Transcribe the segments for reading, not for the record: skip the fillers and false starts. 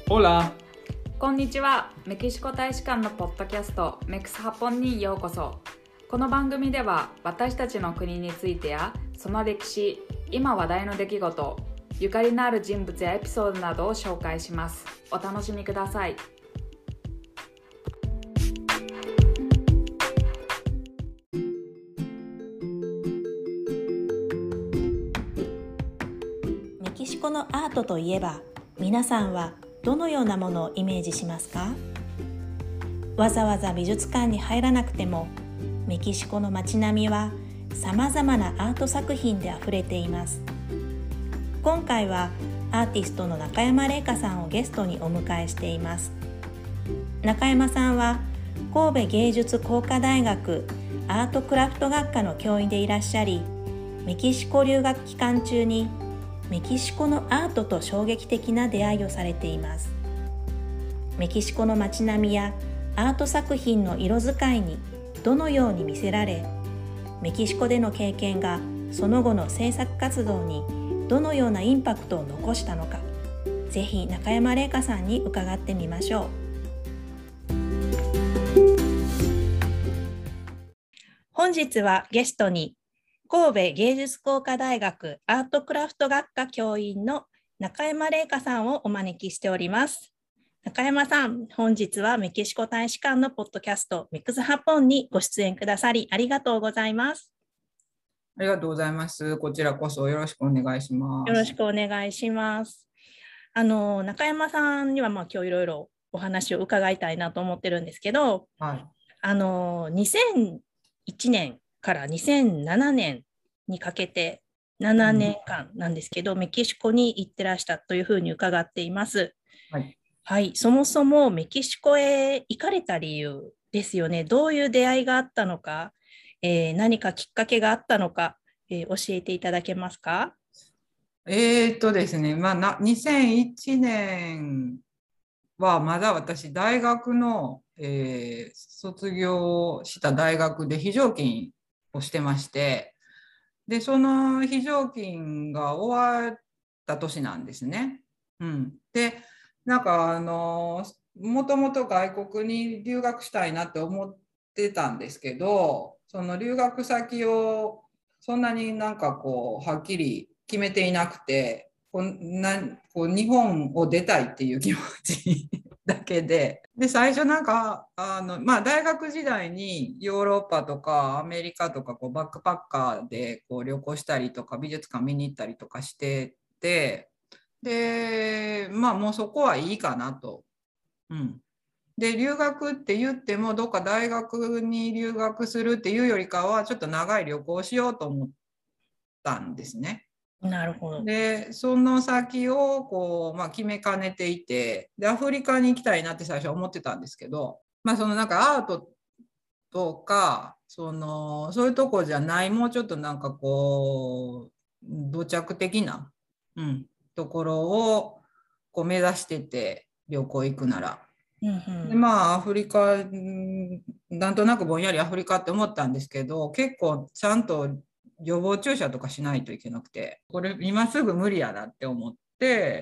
Hola! こんにちは。メキシコ大使館のポッドキャストメクスハポンにようこそ。この番組では私たちの国についてやその歴史、今話題の出来事、ゆかりのある人物やエピソードなどを紹介します。お楽しみください。 メキシコのアートといえば、皆さんはどのようなものをイメージしますか？わざわざ美術館に入らなくても、メキシコの街並みはさまざまなアート作品であふれています。今回はアーティストの中山玲香さんをゲストにお迎えしています。中山さんは神戸芸術工科大学アートクラフト学科の教員でいらっしゃり、メキシコ留学期間中にメキシコのアートと衝撃的な出会いをされています。メキシコの街並みやアート作品の色使いにどのように見せられ、メキシコでの経験がその後の制作活動にどのようなインパクトを残したのか、ぜひ中山玲香さんに伺ってみましょう。本日はゲストに神戸芸術工科大学アートクラフト学科教員の中山玲香さんをお招きしております。中山さん、本日はメキシコ大使館のポッドキャストメクスハポンにご出演くださりありがとうございます。 ありがとうございます。こちらこそよろしくお願いします。 よろしくお願いします。中山さんには今日いろいろお話を伺いたいなと思ってるんですけど、 はい、 2001年から2007年にかけて7年間なんですけど、メキシコに行ってらしたというふうに伺っています。 はい。 はい、そもそもメキシコへ行かれた理由ですよね。どういう出会いがあったのか、何かきっかけがあったのか、教えていただけますか？ ですね、2001年はまだ私、大学の、卒業した大学で非常勤をしてまして、で、その非常勤が終わった年なんですね。うん。で、もともと外国に留学したいなって思ってたんですけど、その留学先をそんなにはっきり決めていなくて、日本を出たいっていう気持ちだけで、最初大学時代にヨーロッパとかアメリカとかバックパッカーで旅行したりとか美術館見に行ったりとかしてて、で、もうそこはいいかなと。うん。で、留学って言っても、どっか大学に留学するっていうよりかは、ちょっと長い旅行をしようと思ったんですね。 なるほど。 で、その先を決めかねていて、で、アフリカに行きたいなって最初は思ってたんですけど、アートとか、そういうとこじゃない、もうちょっと土着的な、ところを目指してて、旅行行くなら。で、アフリカ、なんとなくぼんやりアフリカって思ったんですけど、結構ちゃんと予防注射とかしないといけなくて、これ今すぐ無理やなって思って、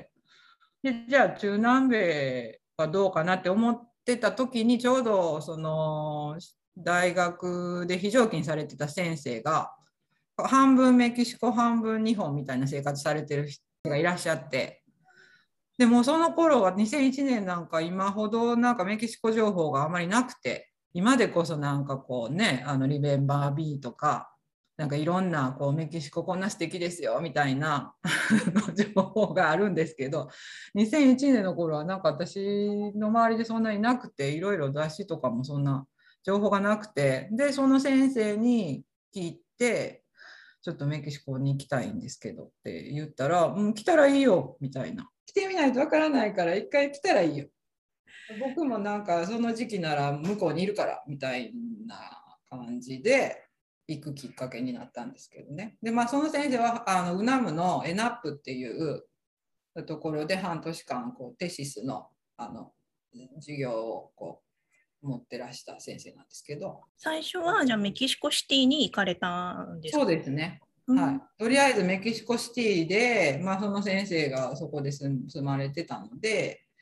で、じゃあ中南米はどうかなって思ってた時に、ちょうどその大学で非常勤されてた先生が、半分メキシコ、半分日本みたいな生活されてる人がいらっしゃって、でもその頃は2001年なんか今ほどメキシコ情報があまりなくて、今でこそリメンバー B とか、いろんなメキシコこんな素敵ですよみたいな情報があるんですけど、2001年の頃は私の周りでそんなになくて、いろいろ雑誌とかもそんな情報がなくて、で、その先生に聞いて、ちょっとメキシコに行きたいんですけどって言ったら、来たらいいよみたいな。来てみないとわからないから一回来たらいいよ。僕もその時期なら向こうにいるからみたいな感じで行くきっかけになったんですけどね。で、その先生はウナムのエナップっていうところで半年間テシスの授業を持ってらした先生なんですけど。 最初はじゃあメキシコシティに行かれたんですか？ そうですね。はい、とりあえずメキシコシティで、その先生がそこで住まれてたので、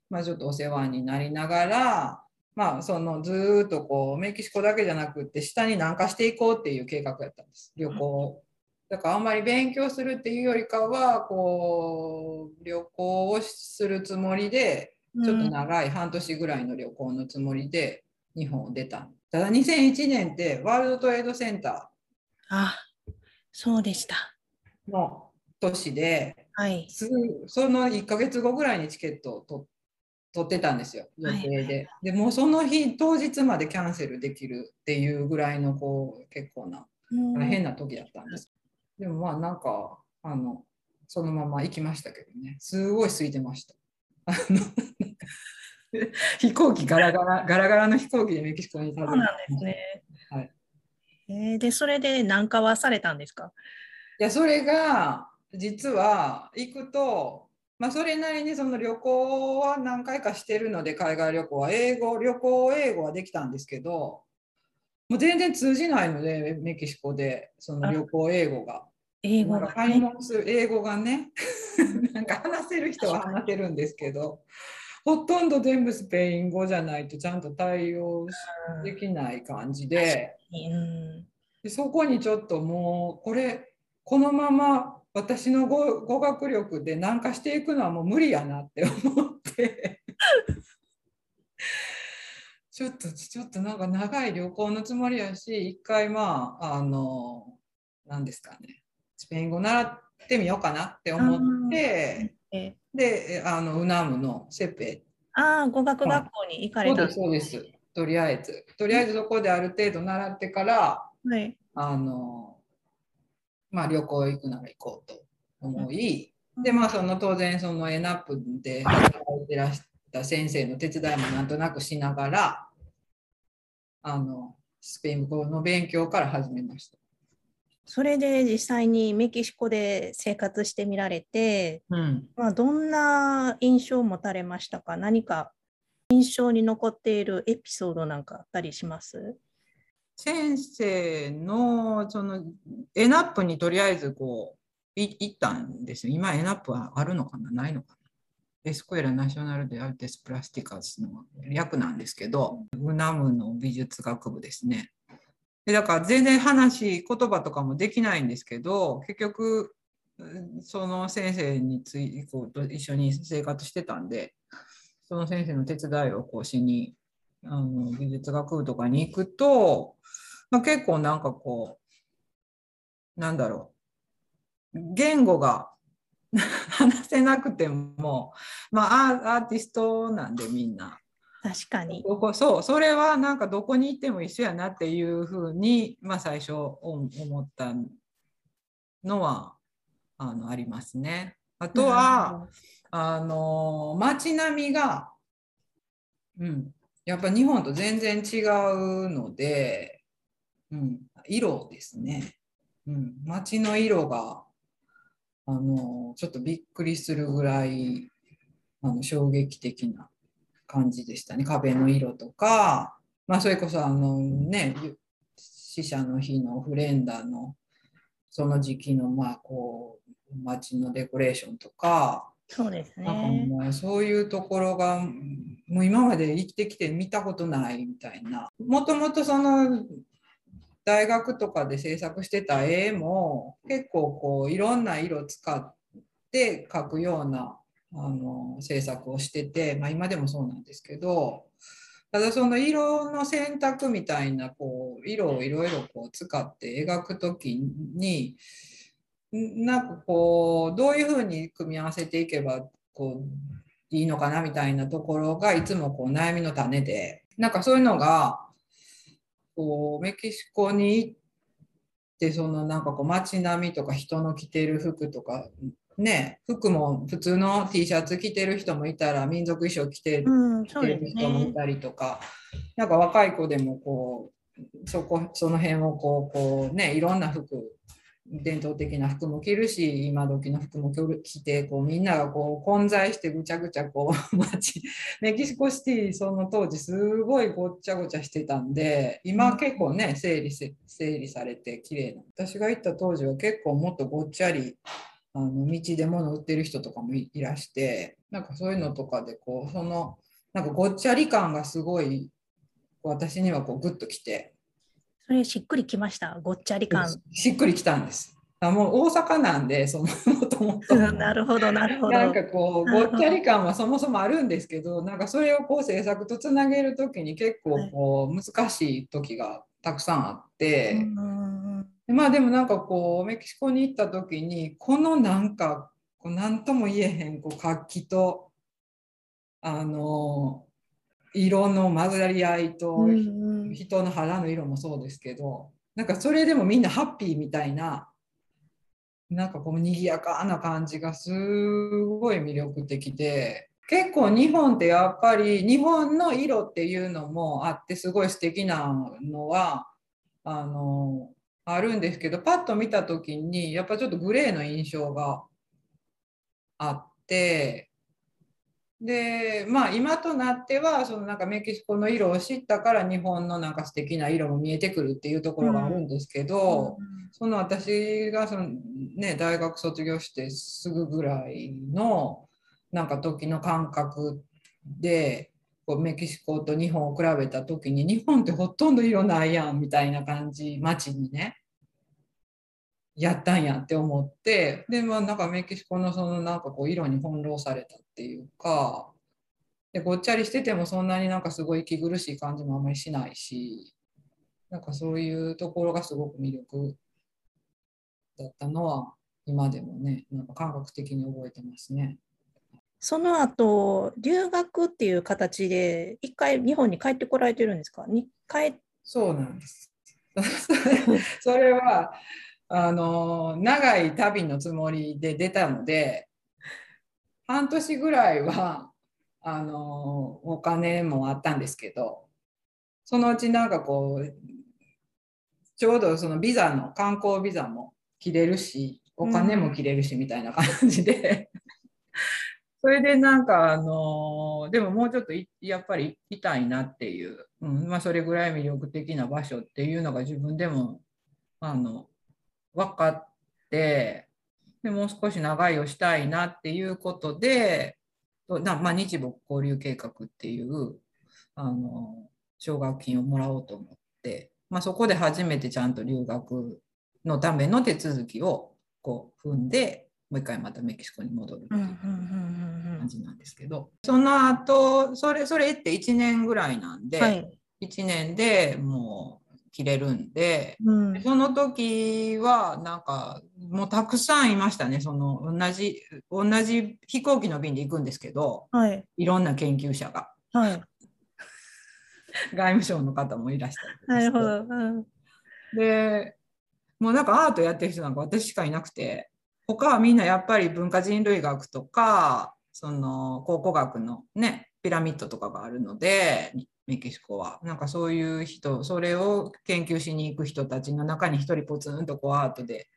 まあ、ちょっとお世話になりながら、まあ、そのずーっとこうメキシコだけじゃなくって下に南下していこうっていう計画やったんです、旅行を。だからあんまり勉強するっていうよりかはこう旅行をするつもりで、ちょっと長い半年ぐらいの旅行のつもりで日本を出た。ただ2001年ってワールドトレードセンタあ、そうでした。 ーの年で、 はい。 その1ヶ月後ぐらいにチケットを取ってたんですよ、予定で。でもうその日当日までキャンセルできるっていうぐらいのこう結構な大変な時だったんです。でもまあなんかそのまま行きましたけどね、すごい空いてました。飛行機ガラガラの飛行機でメキシコにそうなんですね。 はい。 で、それで南下はされたんですか？ いや、それが実は行くと、まあ、それなりにその旅行は何回かしてるので、海外旅行は旅行英語はできたんですけど、もう全然通じないので、メキシコでその旅行英語が。 英語がね。 英語がね、なんか話せる人は話せるんですけど、ほとんど全部スペイン語じゃないとちゃんと対応できない感じで、そこにちょっともうこのまま私の語学力で南下していくのはもう無理やなって思ってちょっとなんか長い旅行のつもりやし、一回まあ何ですかね、スペイン語習ってみようかなって思って、でウナムのセペ、 語学学校に行かれた。 そうです。とりあえずそこである程度習ってから、 はい、 まあ、旅行行くなら行こうと思い、でまあ当然そのエナップで働いてらした先生の手伝いもなんとなくしながらスペイン語の勉強から始めました。 それで実際にメキシコで生活してみられて、まあ、どんな印象を持たれましたか？何か印象に残っているエピソードなんかあったりします？ 先生のそのエナップにとりあえずこう行ったんですよ。今エナップはあるのかな、ないのかな。エスクエラ・ナショナル・デ・アルテス・プラスティカスの略なんですけど、ウナムの美術学部ですね。でだから全然言葉とかもできないんですけど、結局その先生に一緒に生活してたんで、その先生の手伝いをこうしに美術学部とかに行くと、まあ、結構なんかこうなんだろう、言語が話せなくても、まあ、アーティストなんでみんな。 確かに。 それはなんかどこに行っても一緒やなっていうふうに、まあ、最初思ったのはありますね。あとは街並みが、やっぱ日本と全然違うので、色ですね。街の色がちょっとびっくりするぐらい衝撃的な感じでしたね。壁の色とか、まあ、それこそ死者の日のフレンダのその時期のまあこう街のデコレーションとか、 そうですね。 なんかもうそういうところがもう今まで生きてきて見たことないみたいな。もともとその大学とかで制作してた絵も結構こういろんな色使って描くような制作をしてて、まあ、今でもそうなんですけど、ただその色の選択みたいなこう色をいろいろこう使って描くときになんかこうどういうふうに組み合わせていけばこういいのかなみたいなところがいつもこう悩みの種で、なんかそういうのがこうメキシコに行ってそのなんかこう街並みとか人の着てる服とかね、服も普通の T シャツ着てる人もいたら民族衣装着てる人もいたりとか、なんか若い子でもこうその辺をこうね、いろんな服、伝統的な服も着るし今時の服も着てこうみんながこう混在してぐちゃぐちゃこうメキシコシティその当時すごいごっちゃごちゃしてたんで、今結構ね整理されて綺麗な、私が行った当時は結構もっとごっちゃり道で物売ってる人とかもいらして、 なんかそういうのとかでなんかごっちゃり感がすごい私にはグッときて。 それしっくりきました、ごっちゃり感。 しっくりきたんです。もう大阪なんで、もともと。 なるほど、なるほど。 なんかごっちゃり感はそもそもあるんですけど、なんかそれを制作とつなげるときに結構難しい時がたくさんあって、まあでもなんかメキシコに行った時に、このなんか、なんとも言えへん活気と、色の混ざり合いと、人の肌の色もそうですけど、なんかそれでもみんなハッピーみたいな、なんか賑やかな感じがすごい魅力的で、結構日本ってやっぱり日本の色っていうのもあってすごい素敵なのはあるんですけど、パッと見た時にやっぱちょっとグレーの印象があって、でまあ今となってはなんかメキシコの色を知ったから日本のなんか素敵な色も見えてくるっていうところがあるんですけど、私が大学卒業してすぐぐらいのなんか時の感覚でメキシコと日本を比べた時に、日本ってほとんど色ないやんみたいな感じ、街にねやったんやって思って、でまあなんかメキシコのなんか色に翻弄されたっていうか、でごっちゃりしててもそんなになんかすごい息苦しい感じもあんまりしないし、なんかそういうところがすごく魅力だったのは今でもね、なんか感覚的に覚えてますね。 その後留学っていう形で一回日本に帰ってこられてるんですか？ そうなんですそれは長い旅のつもりで出たので、半年ぐらいはお金もあったんですけど、そのうちなんかちょうどビザの観光ビザも切れるし、お金も切れるしみたいな感じで、それでなんかでももうちょっとやっぱり行きたいなっていう、まあ、それぐらい魅力的な場所っていうのが自分でも分かって、でもう少し長居をしたいなっていうことで、まあ、日没交流計画っていう奨学金をもらおうと思って、まあ、そこで初めてちゃんと留学のための手続きを踏んで、もう一回またメキシコに戻るっていう感じなんですけど、その後それって1年ぐらいなんで、はい、1年でもう切れるんで、その時はなんかもうたくさんいましたね。同じ飛行機の便で行くんですけど、はい、いろんな研究者が、はい、外務省の方もいらしたりとかして、なるほど、でもうなんかアートやってる人なんか私しかいなくて、他はみんなやっぱり文化人類学とか考古学のねピラミッドとかがあるので、メキシコはなんかそういう人、それを研究しに行く人たちの中に一人ポツンとアートで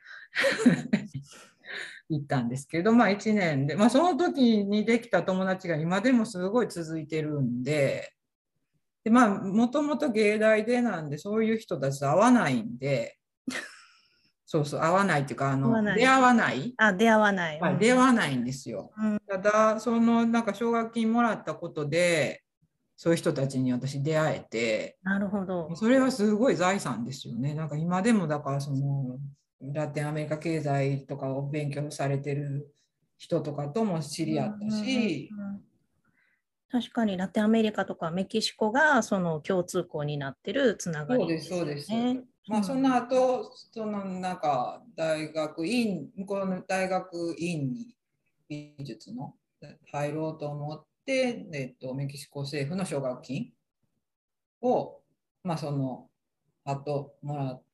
行ったんですけど、まあ1年で、まあ、その時にできた友達が今でもすごい続いてるんで、まあもともと芸大でなんでそういう人たちと会わないんで、そうそう、会わないっていうか出会わない。 出会わない。 出会わないんですよ。ただなんか奨学金もらったことでそういう人たちに私出会えて、 なるほど。 それはすごい財産ですよね。なんか今でもだからラテンアメリカ経済とかを勉強されてる人とかとも知り合ったし、 確かにラテンアメリカとかメキシコがその共通項になってるつながりですよね。そうです、そうです。 まあ、その後、なんか向こうの大学院に美術の入ろうと思って、メキシコ政府の奨学金を、まあ、その後もらって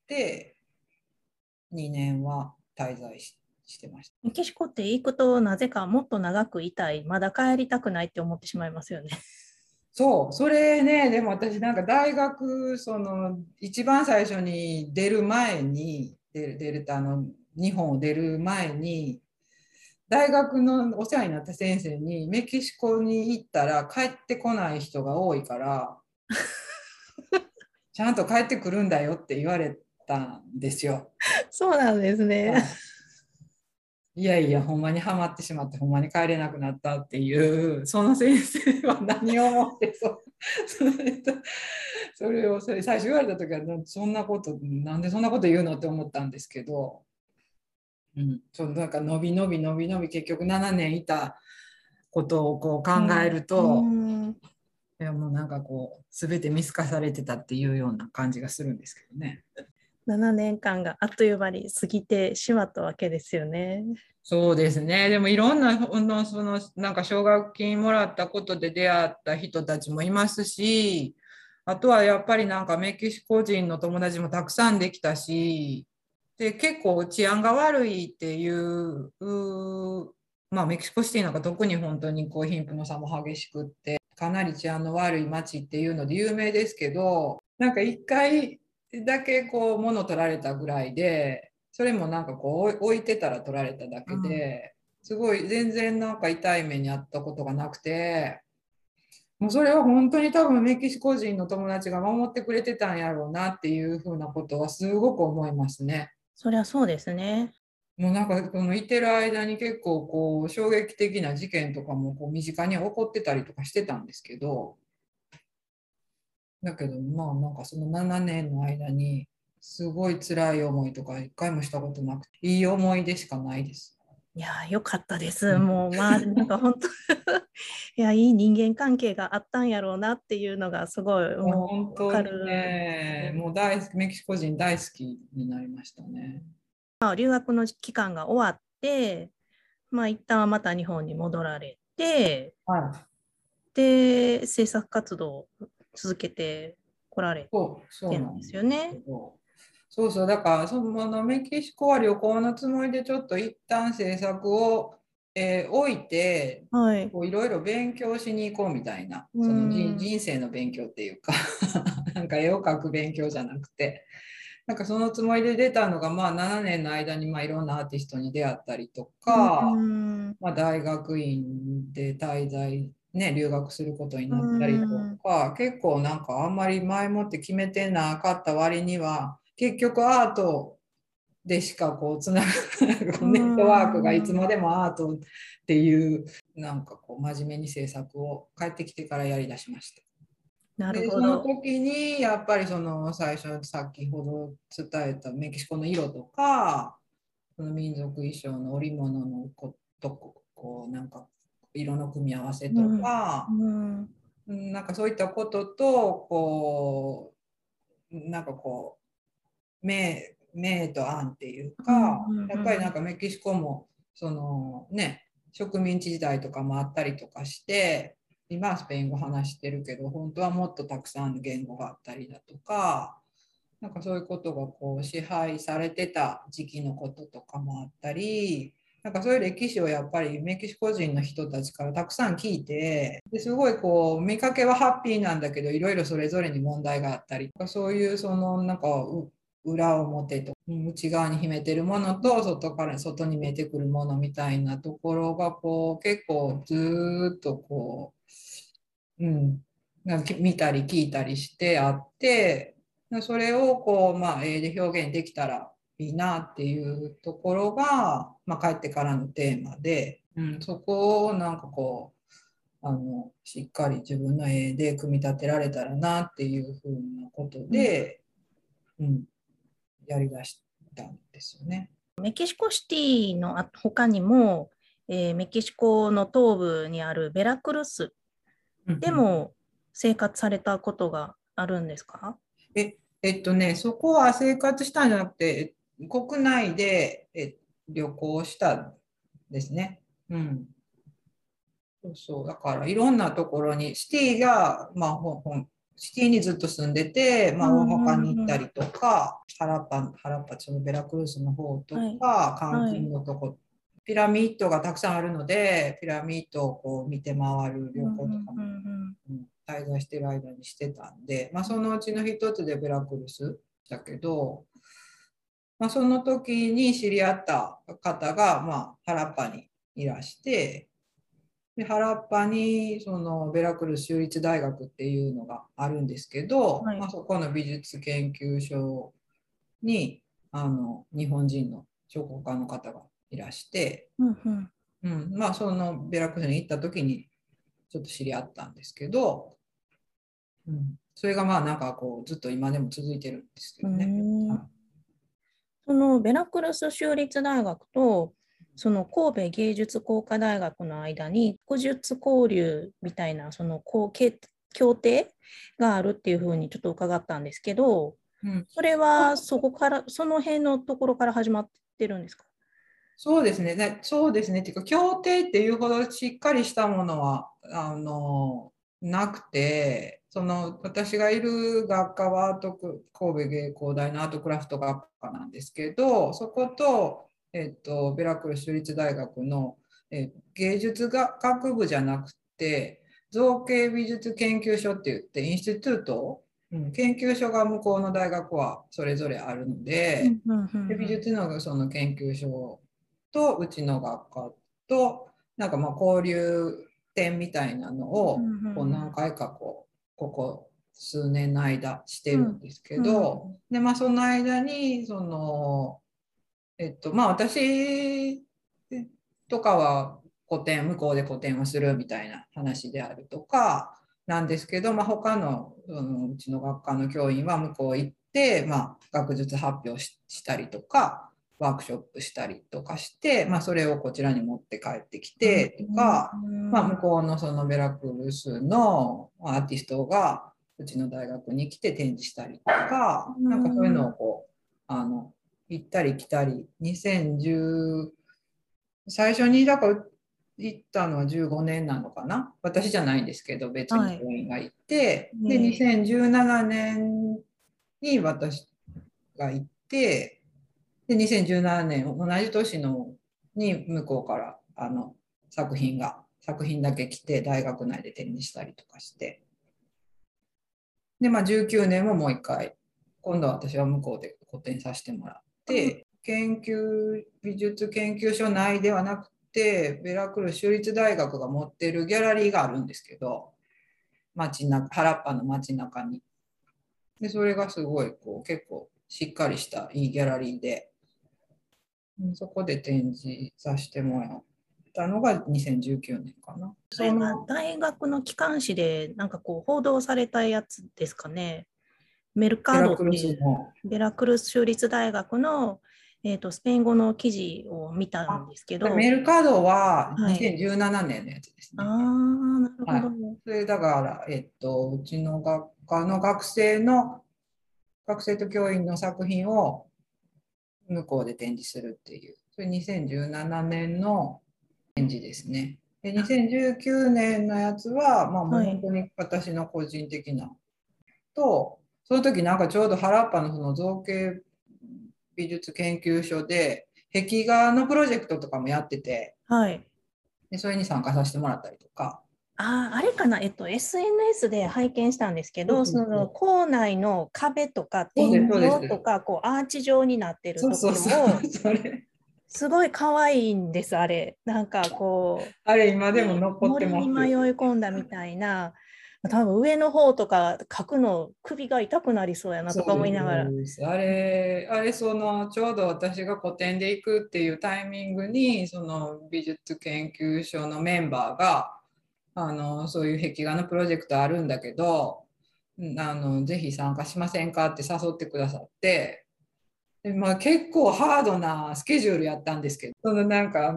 、2年は滞在してました。 メキシコって行くとなぜかもっと長くいたい、まだ帰りたくないって思ってしまいますよね。 そう、それね、でも私なんか大学、一番最初に出る前に、日本を出る前に、大学のお世話になった先生に、メキシコに行ったら帰ってこない人が多いから、ちゃんと帰ってくるんだよって言われたんですよ。 そうなんですね。 いやいや、ほんまにはまってしまって、ほんまに帰れなくなったっていう、その先生は何を思ってそれとそれ最初言われた時は、そんなこと、なんでそんなこと言うのって思ったんですけど、うん、なんか伸び伸び伸び伸び結局7年いたことをこう考えると、いやもうなんかこう全て見透かされてたっていうような感じがするんですけどね。 7年間があっという間に過ぎてしまったわけですよね。 そうですね。でもいろんななんか奨学金もらったことで出会った人たちもいますし、あとはやっぱりなんかメキシコ人の友達もたくさんできたし、で結構治安が悪いっていうまあメキシコシティなんか特に本当にこう貧富の差も激しくってかなり治安の悪い街っていうので有名ですけど、なんか一回だけこう物取られたぐらいで、それもなんかこう置いてたら取られただけで、すごい全然なんか痛い目にあったことがなくて、もうそれは本当に多分メキシコ人の友達が守ってくれてたんやろうなっていうふうなことはすごく思いますね。 そりゃそうですね。 もうなんかこのいてる間に結構こう衝撃的な事件とかもこう身近に起こってたりとかしてたんですけど、だけどまあなんかその7年の間にすごい辛い思いとか一回もしたことなくて、いい思い出しかないです。 いやー、よかったです。もう、まあ、なんか本当いや、いい人間関係があったんやろうなっていうのがすごい、 もうもう、わか本当にるですね、 ね。 もう大好き、メキシコ人大好きになりましたね。 まあ、留学の期間が終わって、まあ、一旦はまた日本に戻られて、 はい。 で、制作活動を続けてこられそうてるんですなんですけよね。 ど、そうそう、だからそのメキシコは旅行のつもりでちょっと一旦制作を、置いて、 はい。 こういろいろ勉強しに行こうみたいな、 うそのん。 人生の勉強っていうかなんか絵を描く勉強じゃなくて、なんかそのつもりで出たのが、まあ7年の間にまあいろんなアーティストに出会ったりとうか、 ん。 まあ、大学院で滞在、ね、留学することにうなったりとん。 か、結構なんかあんまり前もって決めてなかった割には、結局アートでしかこうつながうネットワークがいつん。 までもアートっていう、なんかこう真面目に制作を帰ってきてからやりだしました。 なるで、そのほど。 時にやっぱりその最初先ほど伝えたメキシコの色とか、その民族衣装の織物のこうなんか色の組み合わせとうん。 か、 うん。 なんかそういったこととこうなんかこう明と暗っていううん。 か、やっぱりなんうん。 かメキシコもそのね植民地時代とかもあったりとかして、今はスペイン語話してるけど本当はもっとたくさんの言語があったりだとか。なんかそういうことがこう支配されてた時期のこととかもあったり、なんかそういう歴史をやっぱりメキシコ人の人たちからたくさん聞いて、ですごいこう見かけはハッピーなんだけど、いろいろそれぞれに問題があったり、そういうそのなんか裏表と内側に秘めてるものと外に見えてくるものみたいなところがこう結構ずっとこう、なんか見たり聞いたりしてあって、それをこう、まあ、絵で表現できたらいいなっていうところが、まあ、帰ってからのテーマで、そこをなんかこうしっかり自分の絵で組み立てられたらなっていうふうなことうん。 で、うん、やりだしたんですよね。 メキシコシティの他にも、メキシコの東部にあるベラクルスうんうん、 でも生活されたことがあるんですか？ そこは生活したんじゃなくて、国内で旅行したんですね。うん。そうそう。だからいろんなところに、シティが、まあ、シティにずっと住んでて、まあ、大うんう阪に行っんうん。 たりとか、ハラッパ、そのベラクルスの方とはい。 か、カンクンはい。 のとこ、ピラミッドがたくさんあるので、ピラミッドをこう見て回る旅うんうん行とかも、 うん滞在してる間にしてたんで、まあ、そのうちの一つでベラクルスだけど、まあ、その時に知り合った方が、まあ、ハラッパにいらして、で原っぱにそのベラクルス州立大学っていうのがあるんですけど、まあ、 はい。 そこの美術研究所に日本人の彫刻家の方がいらして、 うんうん。 まあそのベラクルスに行った時にちょっと知り合ったんですけど、それがまあなんかこうずっと今でも続いてるんですけうーどね。 ん。そのベラクルス州立大学とその神戸芸術工科大学の間に学術交流みたいなその協定があるっていうふうにちょっと伺ったんですけど、 うん、 それはそこから、その辺のところから始まってるんですか？ そうですね。そうですね。っていうか、協定っていうほどしっかりしたものは、なくて、私がいる学科は神戸芸工大のアートクラフト学科なんですけど、そこと、ベラクル州立大学の、芸術学部じゃなくて、造形美術研究所って言って、インスティテュート、研究所が向こうの大学はそれぞれあるので、美術のその研究所とうちの学科となんかまあ交流展みたいなのをこう何回かここ数年の間してるんですけど、でまあその間にまあ私とかは向こうで個展をするみたいな話であるとかなんですけど、まあ、他のうちの学科の教員は向こう行って、まあ、学術発表したりとかワークショップしたりとかして、まあ、それをこちらに持って帰ってきてとか、まあ、向こうのそのベラクルスのアーティストがうちの大学に来て展示したりとか、なんかそういうのを行ったり来たり、2010、最初にだから行ったのは15年なのかな。私じゃないんですけど、別に教員が行って、で、2017年に私が行って、で、2017年、同じ年に向こうから作品だけ来て、大学内で展示したりとかして、で、まあ19年ももう一回、今度は私は向こうで個展させてもらって、美術研究所内ではなくて、ベラクル州立大学が持ってるギャラリーがあるんですけど、原っぱの街中に。で、それがすごい結構しっかりしたいいギャラリーで、そこで展示させてもらったのが2019年かな。 それは大学の機関誌でなんかこう報道されたやつですかね。メルカードっていうベラクルス州立大学の、スペイン語の記事を見たんですけど。 メルカードは2017年のやつですね。 ああ、なるほど。 それだから、うちの学科の学生と教員の作品を向こうで展示するっていう、それ2017年の展示ですね。で、2019年のやつは、まあもう本当に私の個人的なと、その時なんかちょうど原っぱのその造形美術研究所で壁画のプロジェクトとかもやってて、でそれに参加させてもらったりとか。 あれかな、SNS で拝見したんですけど、その校内の壁とか天井とか、こうアーチ状になってるところを、すごい可愛いんです、あれ。なんかこう、 あれ今でも残ってます。 森に迷い込んだみたいな、多分上の方とか書くの首が痛くなりそうやなとか思いながら。 あれちょうど私が個展で行くっていうタイミングにその美術研究所のメンバーがそういう壁画のプロジェクトあるんだけどぜひ参加しませんかって誘ってくださってで、まあ、結構ハードなスケジュールやったんですけどなんか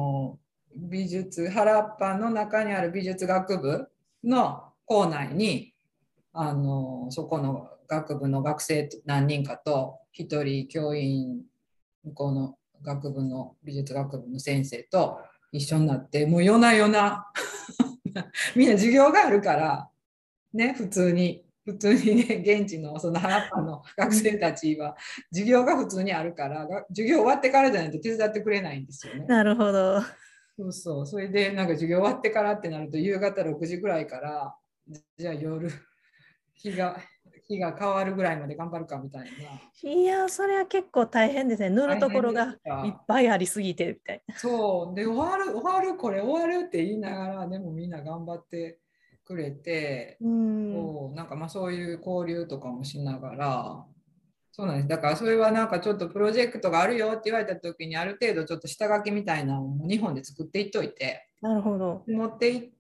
原っぱの中にある美術学部の校内にそこの学部の学生何人かと一人教員向こうの美術学部の先生と一緒になってもう夜な夜なみんな授業があるからね普通にね現地のその原っぱの学生たちは授業が普通にあるから授業終わってからじゃないと手伝ってくれないんですよね。 なるほど。 それでなんか授業終わってからってなると夕方6時ぐらいからじゃあ夜日が変わるぐらいまで頑張るかみたいな。 いや、それは結構大変ですね。塗るところがいっぱいありすぎてみたいな。 そうで終わるって言いながらでもみんな頑張ってくれて、なんかまあそういう交流とかもしながらそうなんです。だからそれはなんかちょっとプロジェクトがあるよって言われた時にある程度ちょっと下書きみたいなのを日本で作っていっといて、 なるほど。 持って行って、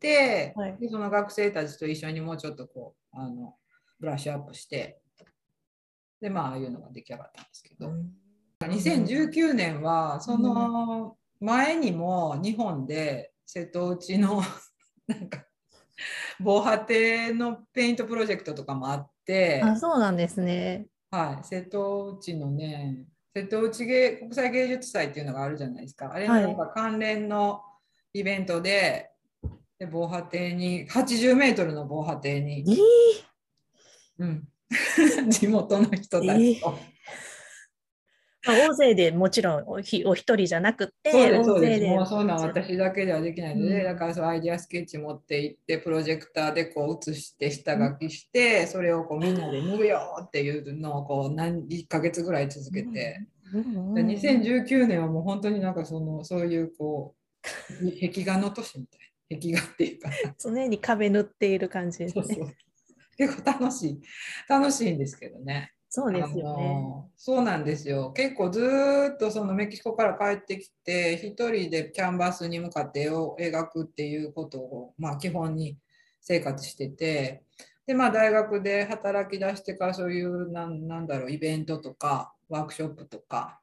はい。 でその学生たちと一緒にもうちょっとブラッシュアップして、でまあああいうのが出来上がったんですけど、2019年はその前にも日本で瀬戸内のなんか防波堤のペイントプロジェクトとかもあっあ、 て、 そうなんですね。 はい、瀬戸内のね、瀬戸内国際芸術祭っていうのがあるじゃないですか。あれのはい。 なんか関連のイベントで、防波堤に、80メートルの防波堤に、うん、地元の人たちーと。 まあ、大勢でもちろんお一人じゃなくて、 そうです、 大そうです。もう勢で。 そんなん私だけではできないので、だかうん。 らそのアイデアスケッチ持って行って、プロジェクターでこう写して下うん書きして、それをこうみんなで塗るよっていうのをこう1ヶ月ぐらい続うんけて、でうんうん。 2019年はもう本当になんかそういうこう壁画の年みたいな、壁画っていうか、 常に壁塗っている感じですね。 そうそう、結構楽しいんですけどね。 そうですよね。 そうなんですよ。結構ずーっとそのメキシコから帰ってきて、一人でキャンバスに向かって絵を描くっていうことを、まあ、基本に生活してて、で、まあ、大学で働き出してからそういうなんだろう、イベントとかワークショップとか、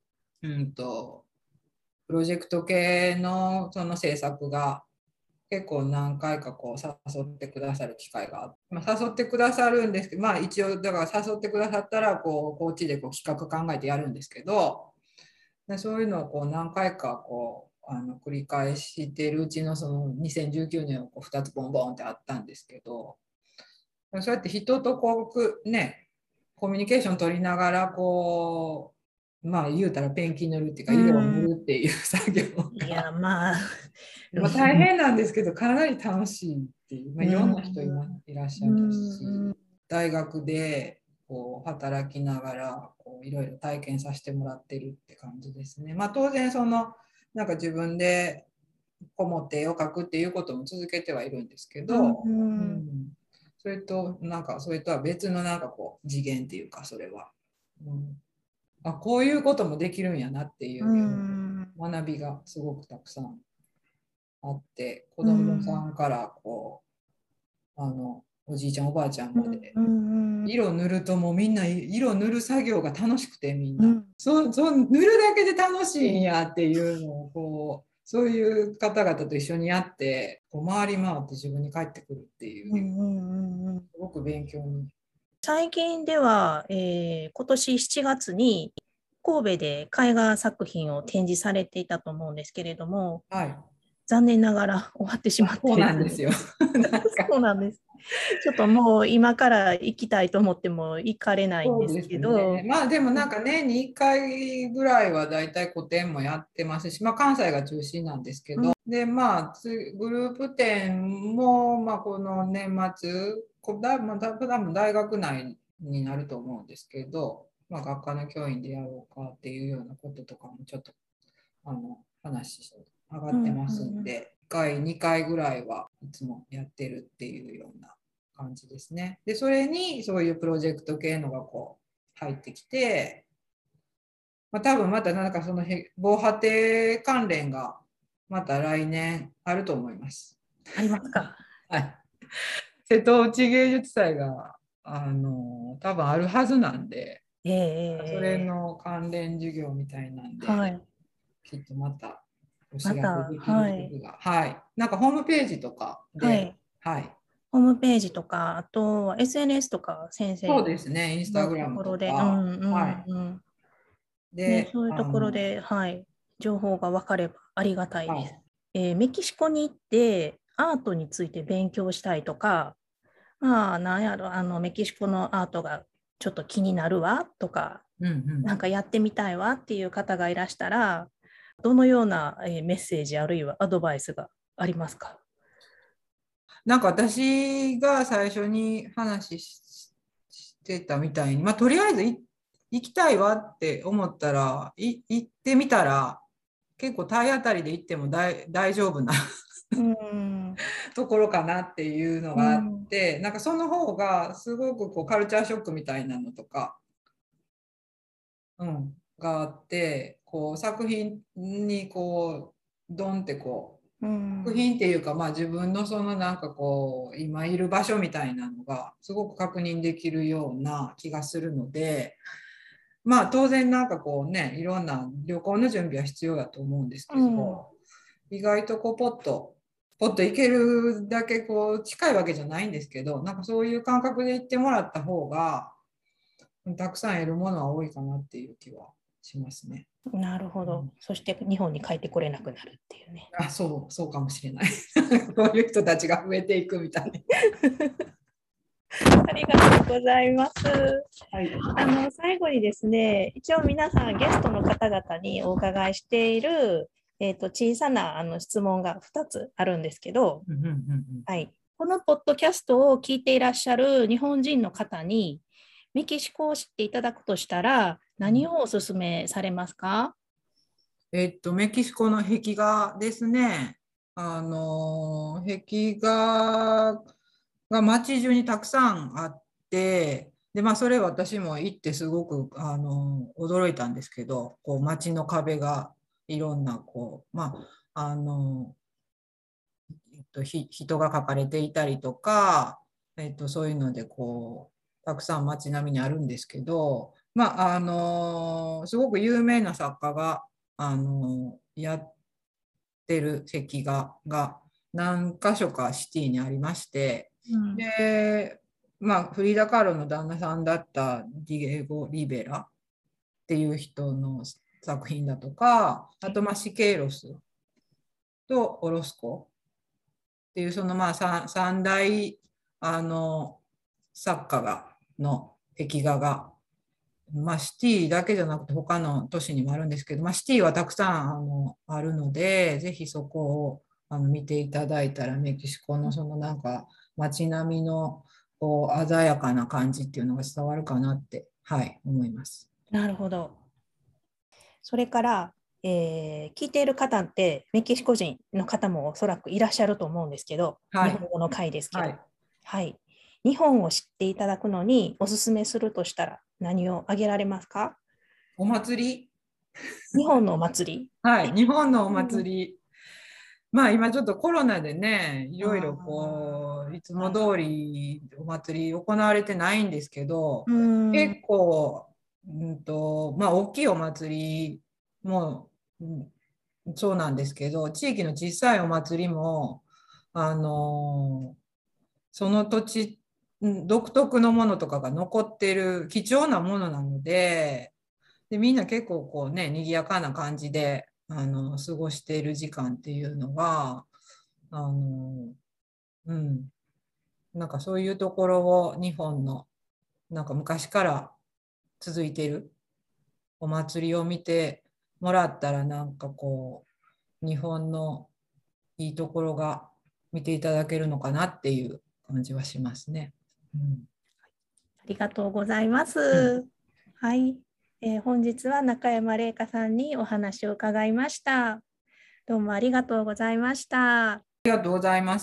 プロジェクト系のその制作が結構何回かこう誘ってくださる機会があって、まあ、誘ってくださるんですけど、まあ一応だから誘ってくださったらこっちでこう企画考えてやるんですけど、でそういうのをこう何回かこう繰り返しているうちのその2019年をこう2つボンボンってあったんですけど、そうやって人とこうね、コミュニケーション取りながらこう、まあ言うたらペンキ塗るっていうかう色を塗ん。 るっていう作業いや、 が、 まあ、 まあ、大変なんですけど、かなり楽しいっていう、まあ、 ういろんな人ん。 いらっしうゃるん。 し、大学でこう働きながらこういろいろ体験させてもらってるって感じですね。まあ、当然なんか自分でこもって絵を描くっていうことも続けてはいるんですけうん。 ど、ううん。 ん、それとは別のなんかこう次元っていうか、それは、こういうこともできるんやなっていううん。 学びがすごくたくさんあって、子う供さん。 んからこうおじいちゃんおばあちゃんまで、 うん。 色塗るともうみんな色塗る作業が楽しくて、みんなうん。 塗るだけで楽しいんやっていうのをこう、そういう方々と一緒にやってこう回り回って自分に返ってくるっていう、すごく勉強に。 最近では、今年7月に神戸で絵画作品を展示されていたと思うんですけれども、 はい。 残念ながら終わってしまっそうて。 なんですよ。なんかそうなんです。ちょっともう今から行きたいと思っても行かれないんですそうですね。 けど、 まあでもなんか年に1回ぐらいはだいたい個展もやってますし、まあ関西が中心なんですけど、でまあグループ展もまあこの年末、多分大学内になると思うんですけど、まあ学科の教員でやろうかっていうようなこととかもちょっと話上がってますんで、1回、2回ぐらいはいつもやってるっていうような感じですね。で、それにそういうプロジェクト系のがこう入ってきて、まあ、多分またなんかその防波堤関連がまた来年あると思います。 ありますか？ はい。瀬戸内芸術祭が多分あるはずなんで、それええ、 の関連授業みたいなんで、 はい。 きっとまたお知らせまた、 できるはい。 時が、はい。なんかホームページとかで、 はい。 はい。 ホームページとか、あとは SNS とか先そう生ですね、インスタのグラムとところで、 か、はい。 ね、 で、 そういうところで、はい、情報が分かればありがたいです。 はい。 メキシコに行ってアートについて勉強したいとか、まあ、なんやろ、メキシコのアートがちょっと気になるわとか、 うんうん。 なんかやってみたいわっていう方がいらしたら、どのようなメッセージあるいはアドバイスがありますか？ なんか私が最初に話してたみたいに、まあ、とりあえず行きたいわって思ったら、行ってみたら、結構体当たりで行っても大丈夫なうん。 ところかなっていうのがあっうん。 て、なんかその方がすごくこうカルチャーショックみたいなのとか、 があって、こう作品にこうドンってこう、作品っていうか、まあ、自分のそのなんかこう今いる場所みたいなのがすごく確認できるような気がするので、まあ当然なんかこうね、いろんな旅行の準備は必要だと思うんですけど、意外とこうポッと行けるだけこう近いわけじゃないんですけど、なんかそういう感覚で行ってもらった方がたくさん得るものは多いかなっていう気はしますね。 なるほど。そして日本に帰ってこれなくなるっていうね。 そうかもしれない。そういう人たちが増えていくみたいな。 ありがとうございます。はい、最後にですね、一応皆さんゲストの方々にお伺いしている、小さな質問が2つあるんですけど、はい、このポッドキャストを聞いていらっしゃる日本人の方にメキシコを知っていただくとしたら何をお勧めされますか？ メキシコの壁画ですね。壁画が街中にたくさんあって、で、まあ、それ私も行ってすごく驚いたんですけど、こう街の壁がいろんなこう、まあ人が描かれていたりとか、そういうのでこうたくさん街並みにあるんですけど、まあすごく有名な作家がやってる壁画が何箇所かシティにありまして、で、まあ、フリーダ・カーロの旦那さんだったディエゴ・リベラっていう人の作品だとか、あと、まあ、シケイロスとオロスコっていうそのまあ三大作家の壁画が、まあ、シティだけじゃなくて他の都市にもあるんですけど、まあ、シティはたくさんあるので、ぜひそこを見ていただいたらメキシコのそのなんか街並みのこう鮮やかな感じっていうのが伝わるかなって、はい、思います。 なるほど。それから、聞いている方ってメキシコ人の方もおそらくいらっしゃると思うんですけど、はい、日本語の回ですけど、はい、日本を知っていただくのにおすすめするとしたら何を挙げられますか？ お祭り。 日本のお祭り。 はい、日本のお祭り。まあ今ちょっとコロナでね、いろいろこういつも通りお祭り行われてないんですけど、結構、まあ大きいお祭りも、そうなんですけど、地域の小さいお祭りもその土地独特のものとかが残ってる貴重なものなので、みんな結構こうね、賑やかな感じで過ごしている時間っていうのがなんかそういうところを日本のなんか昔から続いているお祭りを見てもらったら、なんかこう日本のいいところが見ていただけるのかなっていう感じはしますね。 ありがとうございます。はい、本日は中山玲香さんにお話を伺いました。どうもありがとうございました。 ありがとうございます。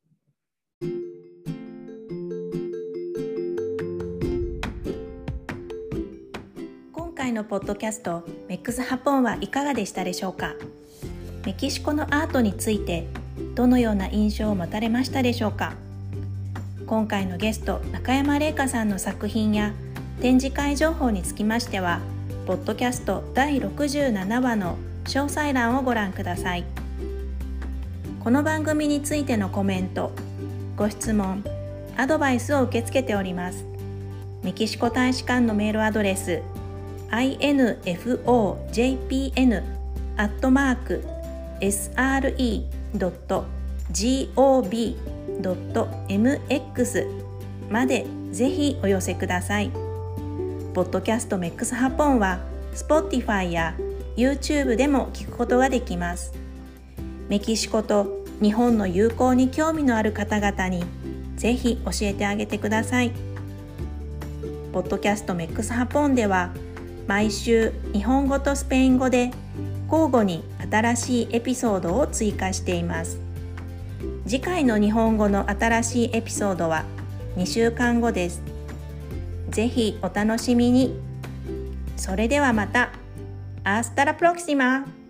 今回のポッドキャストメックスハポンはいかがでしたでしょうか？メキシコのアートについてどのような印象を持たれましたでしょうか？今回のゲスト中山玲香さんの作品や展示会情報につきましてはポッドキャスト第67話の詳細欄をご覧ください。この番組についてのコメント、ご質問、アドバイスを受け付けております。メキシコ大使館のメールアドレス infojpn@sre.gov.mx までぜひお寄せください。ポッドキャストメックスハポンは Spotify や YouTube でも聞くことができます。メキシコと日本の友好に興味のある方々にぜひ教えてあげてください。ポッドキャストメックスハポンでは毎週日本語とスペイン語で交互に新しいエピソードを追加しています。次回の日本語の新しいエピソードは2週間後です。ぜひお楽しみに。 それではまた。Hasta la próxima!